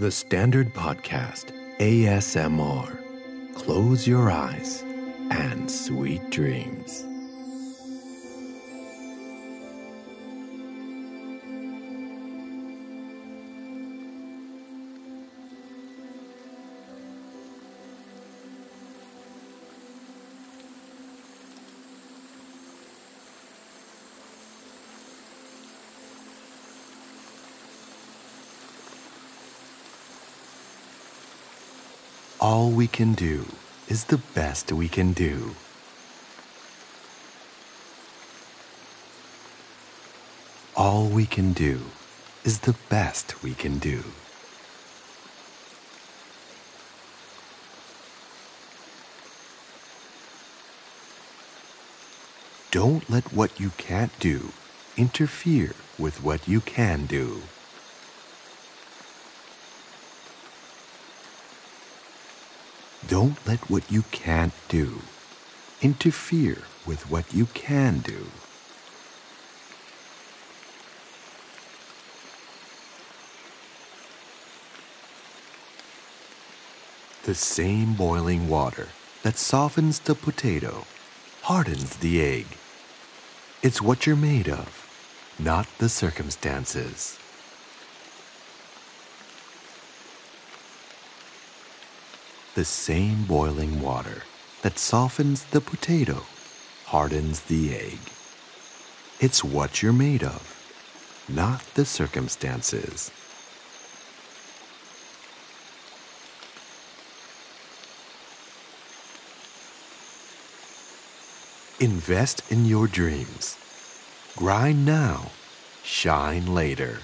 The Standard Podcast ASMR. Close your eyes and sweet dreams. All we can do is the best we can do. All we can do is the best we can do. Don't let what you can't do interfere with what you can do. Don't let what you can't do interfere with what you can do. The same boiling water that softens the potato hardens the egg. It's what you're made of, not the circumstances. The same boiling water that softens the potato hardens the egg. It's what you're made of, not the circumstances. Invest in your dreams. Grind now, shine later.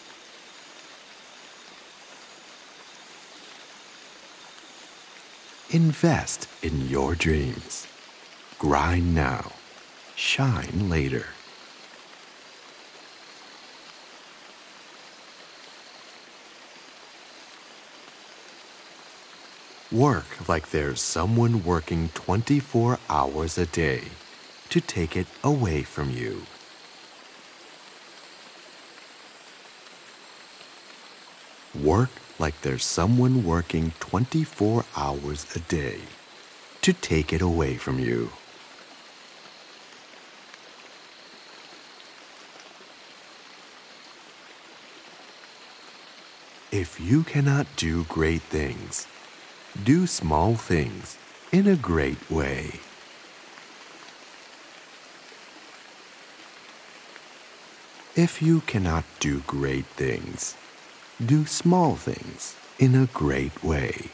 Invest in your dreams. Grind now, shine later. Work like there's someone working 24 hours a day to take it away from you. Work like there's someone working 24 hours a day to take it away from you. If you cannot do great things, do small things in a great way. If you cannot do great things, do small things in a great way.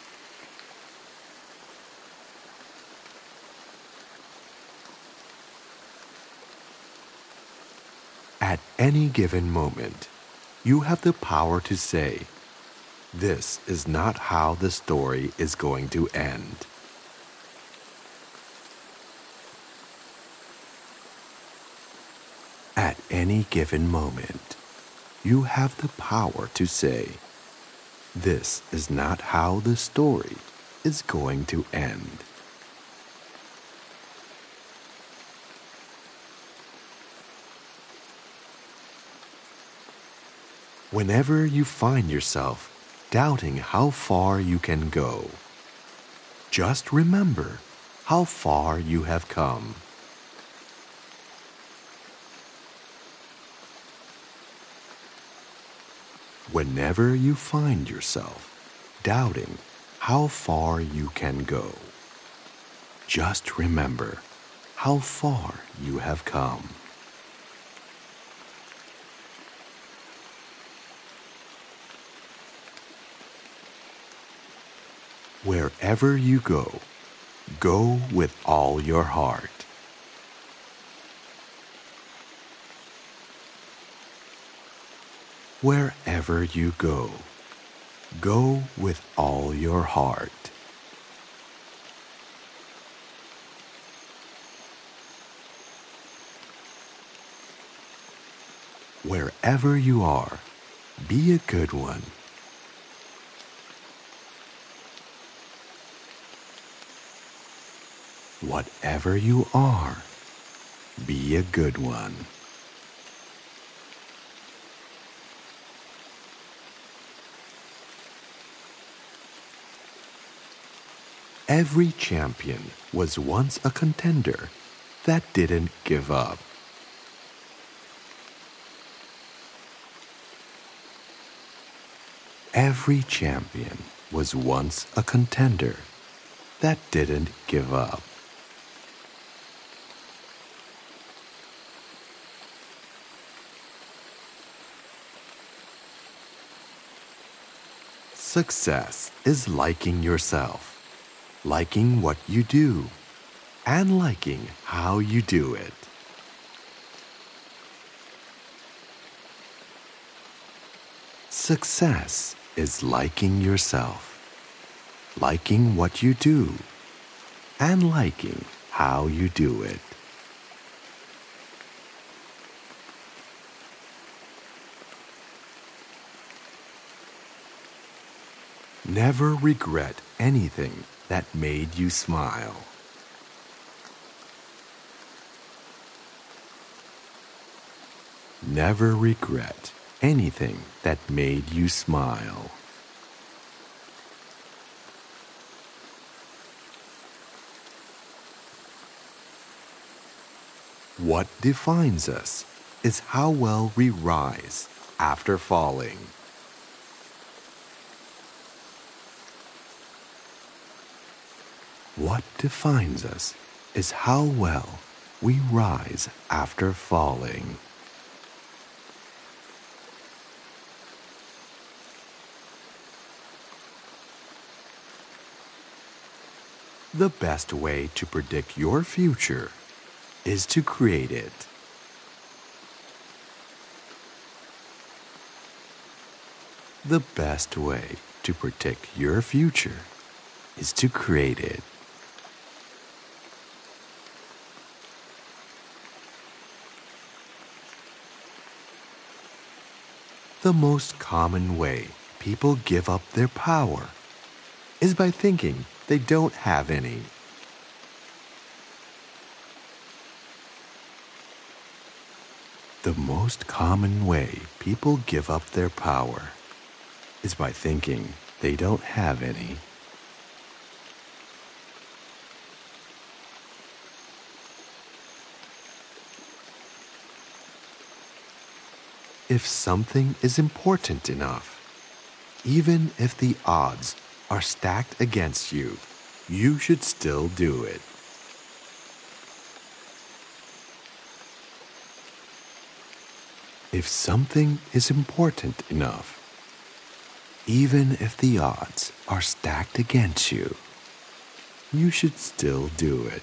At any given moment, you have the power to say, "This is not how the story is going to end." At any given moment, you have the power to say, "This is not how the story is going to end." Whenever you find yourself doubting how far you can go, just remember how far you have come. Whenever you find yourself doubting how far you can go, just remember how far you have come. Wherever you go, go with all your heart. Wherever you go, go with all your heart. Wherever you are, be a good one. Whatever you are, be a good one. Every champion was once a contender that didn't give up. Every champion was once a contender that didn't give up. Success is liking yourself, liking what you do, and liking how you do it. Success is liking yourself, liking what you do, and liking how you do it. Never regret anything that made you smile. Never regret anything that made you smile. What defines us is how well we rise after falling. What defines us is how well we rise after falling. The best way to predict your future is to create it. The best way to predict your future is to create it. The most common way people give up their power is by thinking they don't have any. The most common way people give up their power is by thinking they don't have any. If something is important enough, even if the odds are stacked against you, you should still do it. If something is important enough, even if the odds are stacked against you, you should still do it.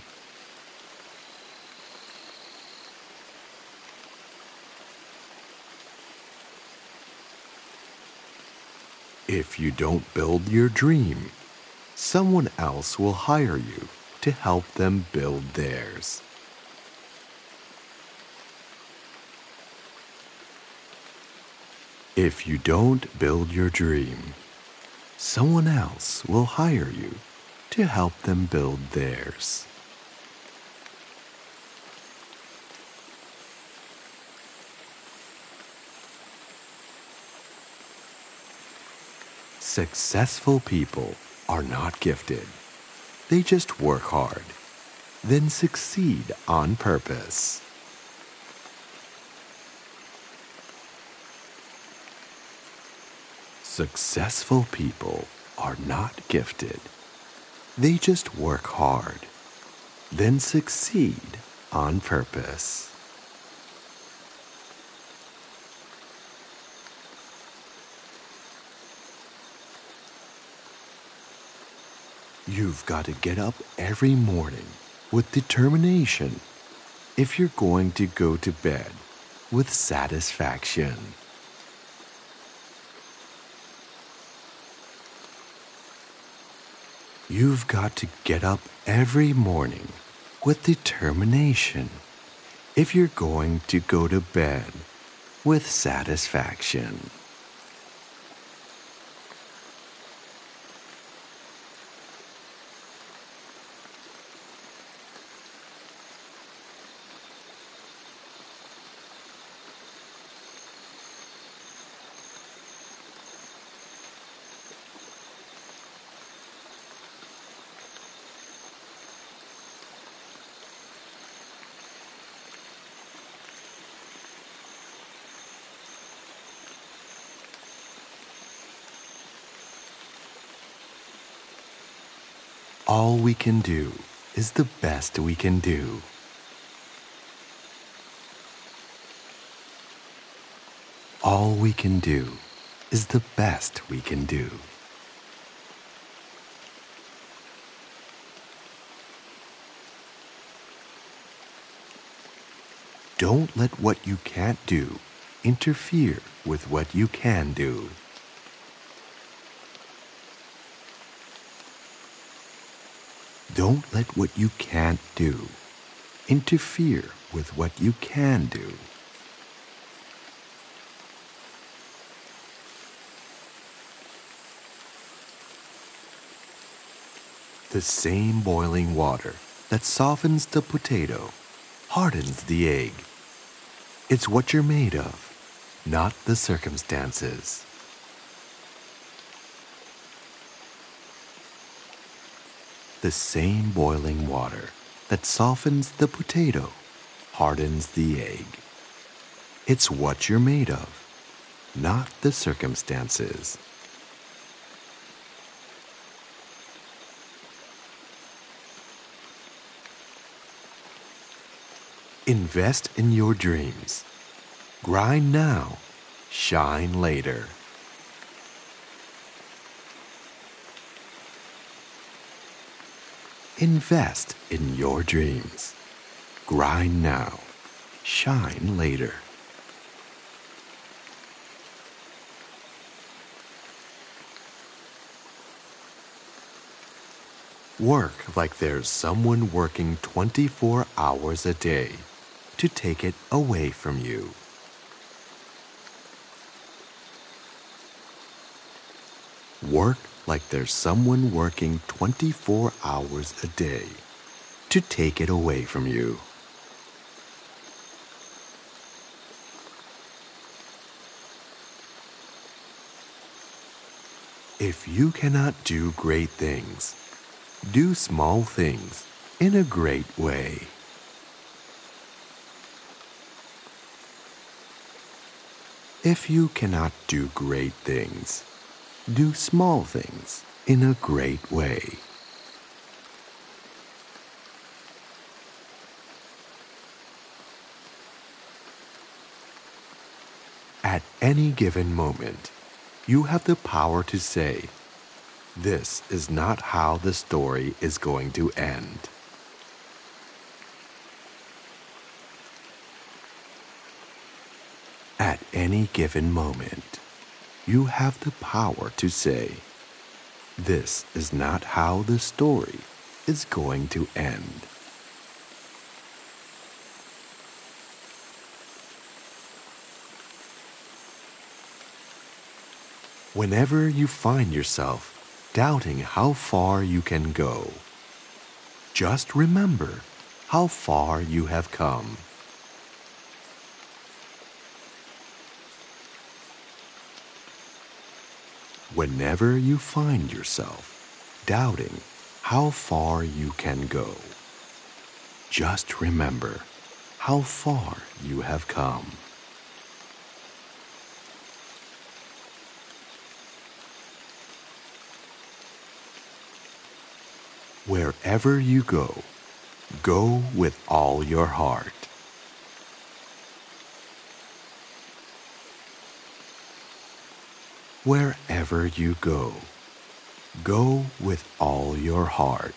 If you don't build your dream, someone else will hire you to help them build theirs. If you don't build your dream, someone else will hire you to help them build theirs. Successful people are not gifted. They just work hard, then succeed on purpose. Successful people are not gifted. They just work hard, then succeed on purpose. You've got to get up every morning with determination if you're going to go to bed with satisfaction. You've got to get up every morning with determination if you're going to go to bed with satisfaction. All we can do is the best we can do. All we can do is the best we can do. Don't let what you can't do interfere with what you can do. Don't let what you can't do interfere with what you can do. The same boiling water that softens the potato hardens the egg. It's what you're made of, not the circumstances. The same boiling water that softens the potato hardens the egg. It's what you're made of, not the circumstances. Invest in your dreams. Grind now, shine later. Invest in your dreams. Grind now, shine later. Work like there's someone working 24 hours a day to take it away from you. Work like there's someone working 24 hours a day to take it away from you. If you cannot do great things, do small things in a great way. If you cannot do great things, do small things in a great way. At any given moment, you have the power to say, "This is not how the story is going to end." At any given moment, you have the power to say, "This is not how the story is going to end." Whenever you find yourself doubting how far you can go, just remember how far you have come. Whenever you find yourself doubting how far you can go, just remember how far you have come. Wherever you go, go with all your heart. Wherever you go, go with all your heart.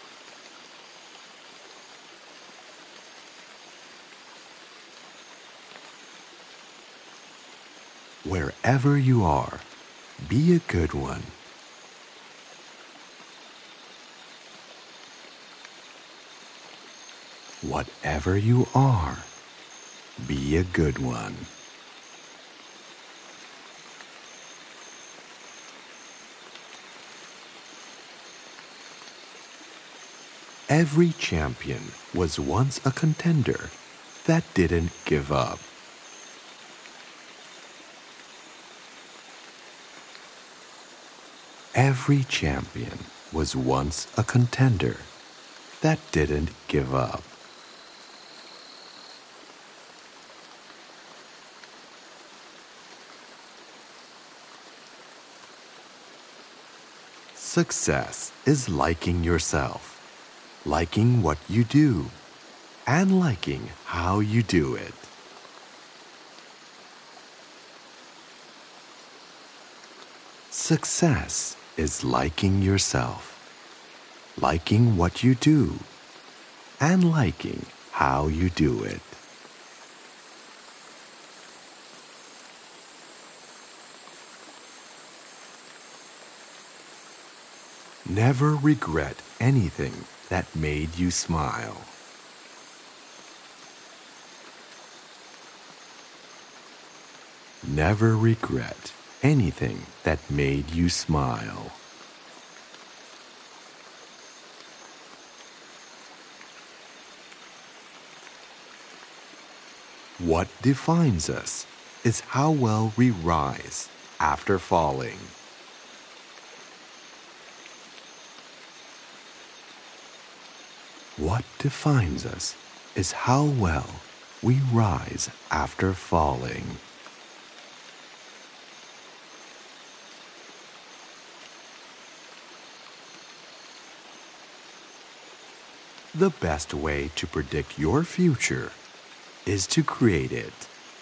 Wherever you are, be a good one. Whatever you are, be a good one. Every champion was once a contender that didn't give up. Every champion was once a contender that didn't give up. Success is liking yourself, liking what you do, and liking how you do it. Success is liking yourself, liking what you do, and liking how you do it. Never regret anything that made you smile. Never regret anything that made you smile. What defines us is how well we rise after falling. What defines us is how well we rise after falling. The best way to predict your future is to create it.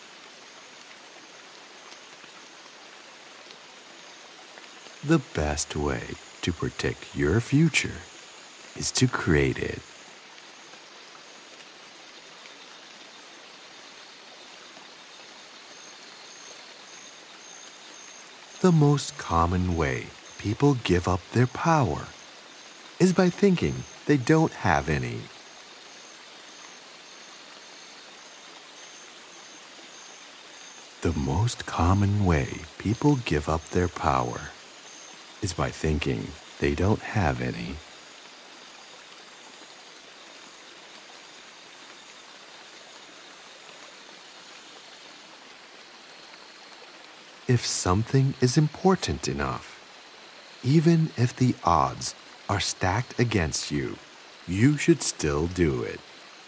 The best way to predict your future is to create it. The most common way people give up their power is by thinking they don't have any. The most common way people give up their power is by thinking they don't have any. If something is important enough, even if the odds are stacked against you, you should still do it.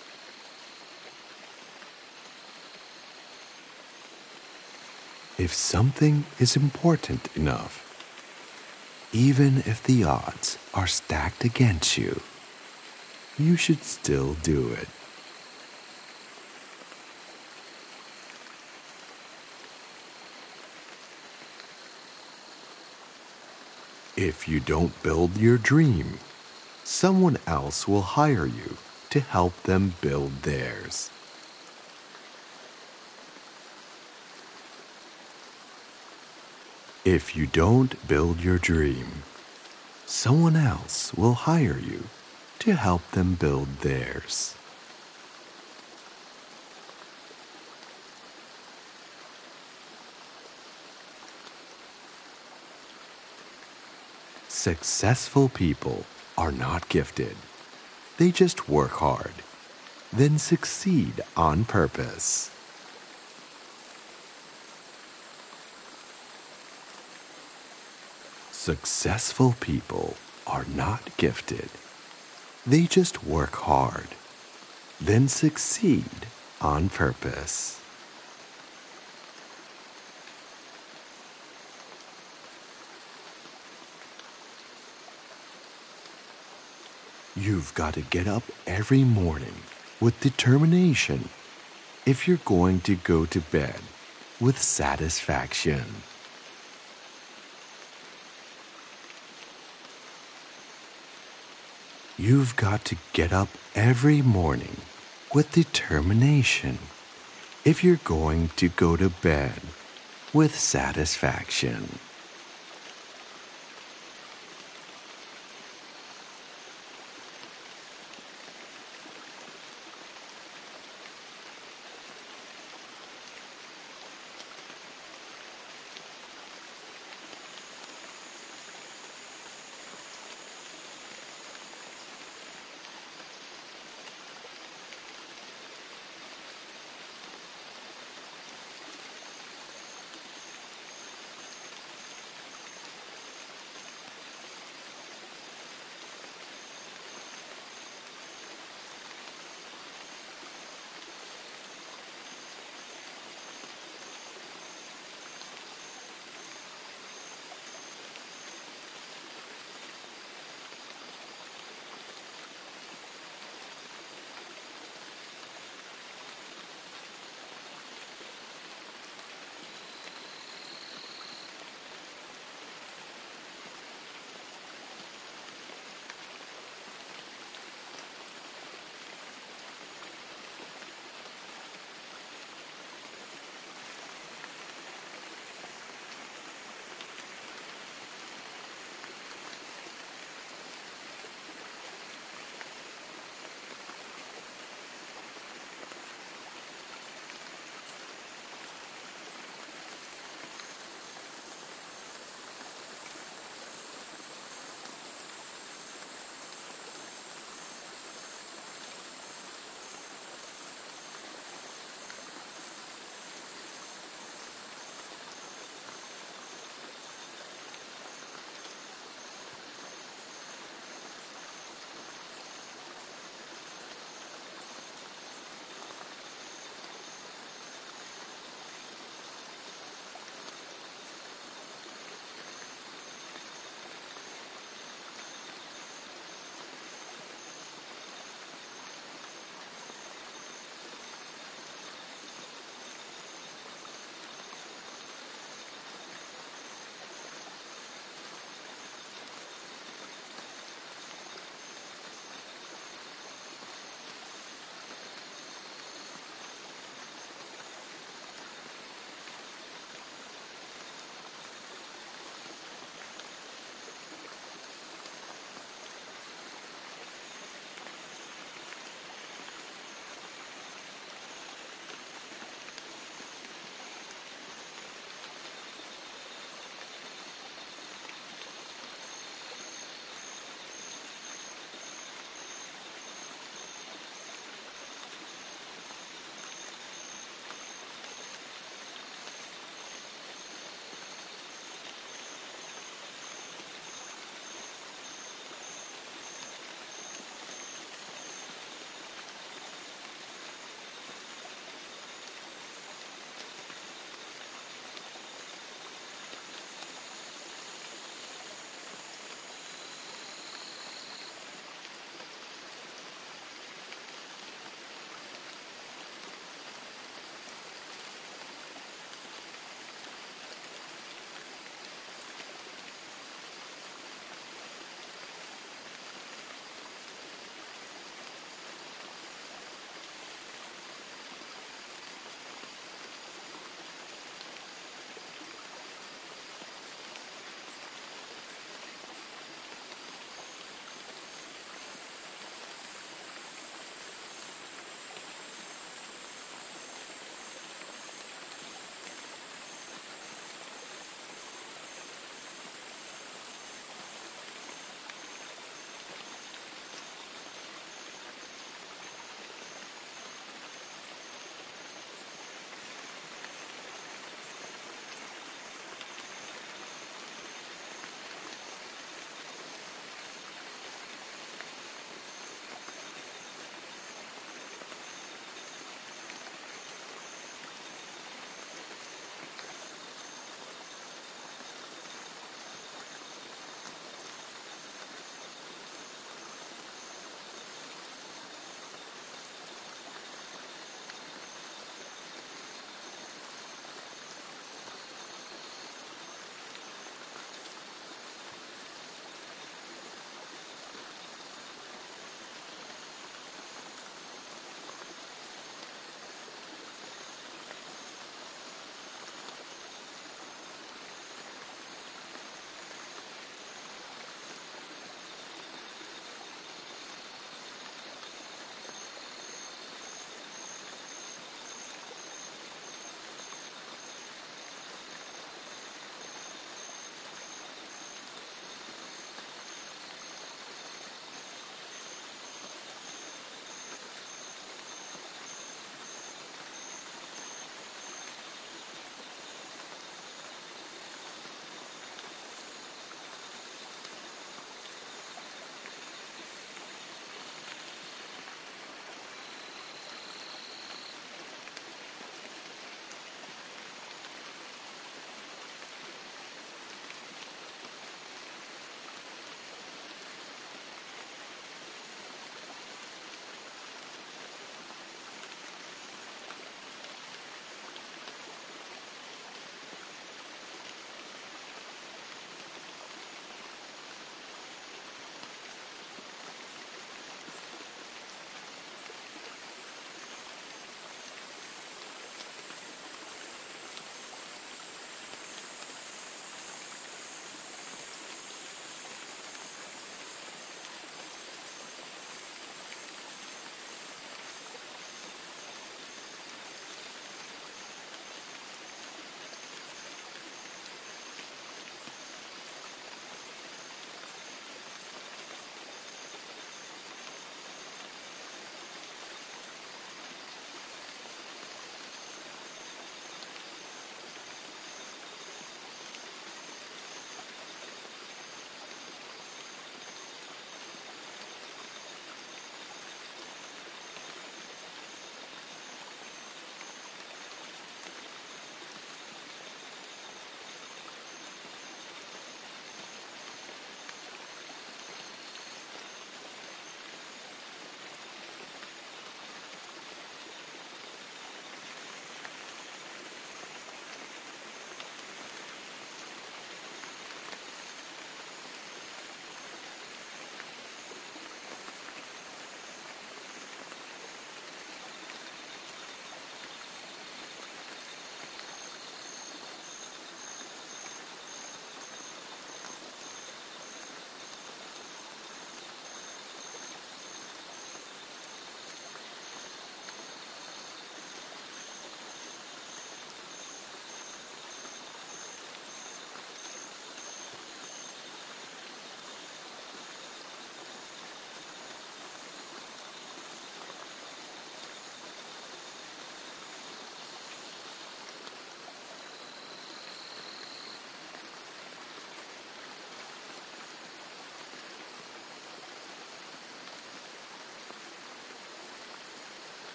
If something is important enough, even if the odds are stacked against you, you should still do it. If you don't build your dream, someone else will hire you to help them build theirs. If you don't build your dream, someone else will hire you to help them build theirs. Successful people are not gifted. They just work hard, then succeed on purpose. Successful people are not gifted. They just work hard, then succeed on purpose. You've got to get up every morning with determination if you're going to go to bed with satisfaction. You've got to get up every morning with determination if you're going to go to bed with satisfaction.